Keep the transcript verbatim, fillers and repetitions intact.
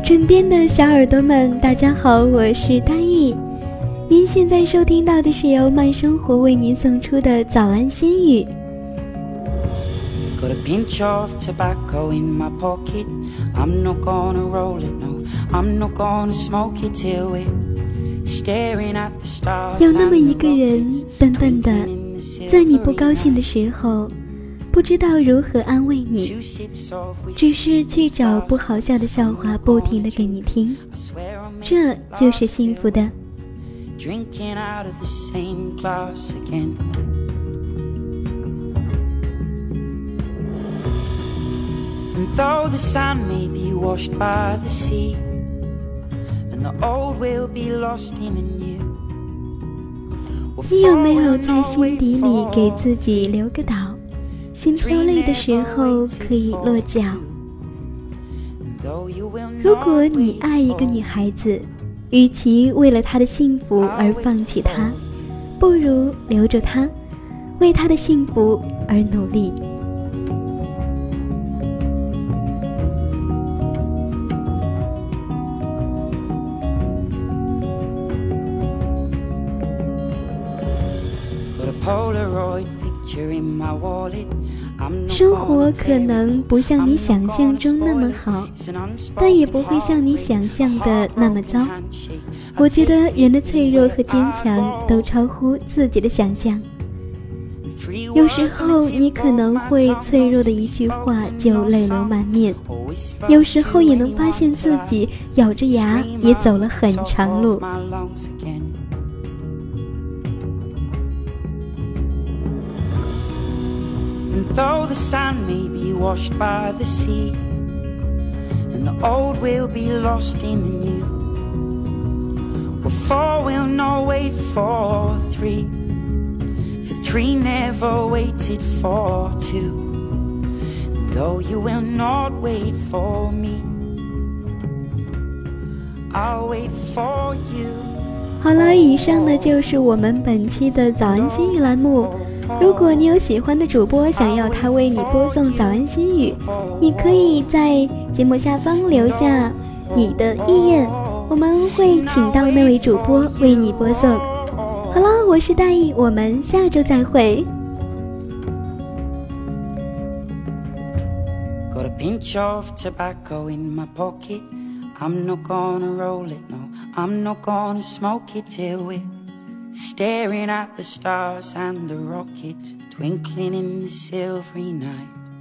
枕边的小耳朵们，大家好，我是大意。您现在收听到的是由慢生活为您送出的早安心语。 Got a pinch of tobacco in my pocket. I'm not gonna roll it, no. I'm not gonna smoke it till we're staring at the stars. 有那么一个人，笨笨的，在你不高兴的时候，不知道如何安慰你，只是去找不好笑的笑话，不停地给你听，这就是幸福的。 Drinking out of the same glass again. And though the sand may be washed by the sea, and the old will be lost in the new. 你有没有在心底里给自己留个岛，心飘累的时候可以落脚？如果你爱一个女孩子，与其为了她的幸福而放弃她，不如留着她，为她的幸福而努力。生活可能不像你想象中那么好，但也不会像你想象的那么糟。我觉得人的脆弱和坚强都超乎自己的想象。有时候你可能会脆弱的一句话就泪流满面，有时候也能发现自己咬着牙也走了很长路。 And though the sand may be washed by the sea, and the old will be lost in the new, well, four will not wait for three, for three never waited for two. And though you will not wait for me, I'll wait for you. 好了，以上呢就是我们本期的早安心语栏目。如果你有喜欢的主播，想要他为你播送早安心语，你可以在节目下方留下你的意愿，我们会请到那位主播为你播送。好了，我是大意，我们下周再会。 Got a pinch of tobacco in my pocket. I'm not gonna roll it, no. I'm not gonna smoke it till we're staring at the stars and the rocket twinkling in the silvery night.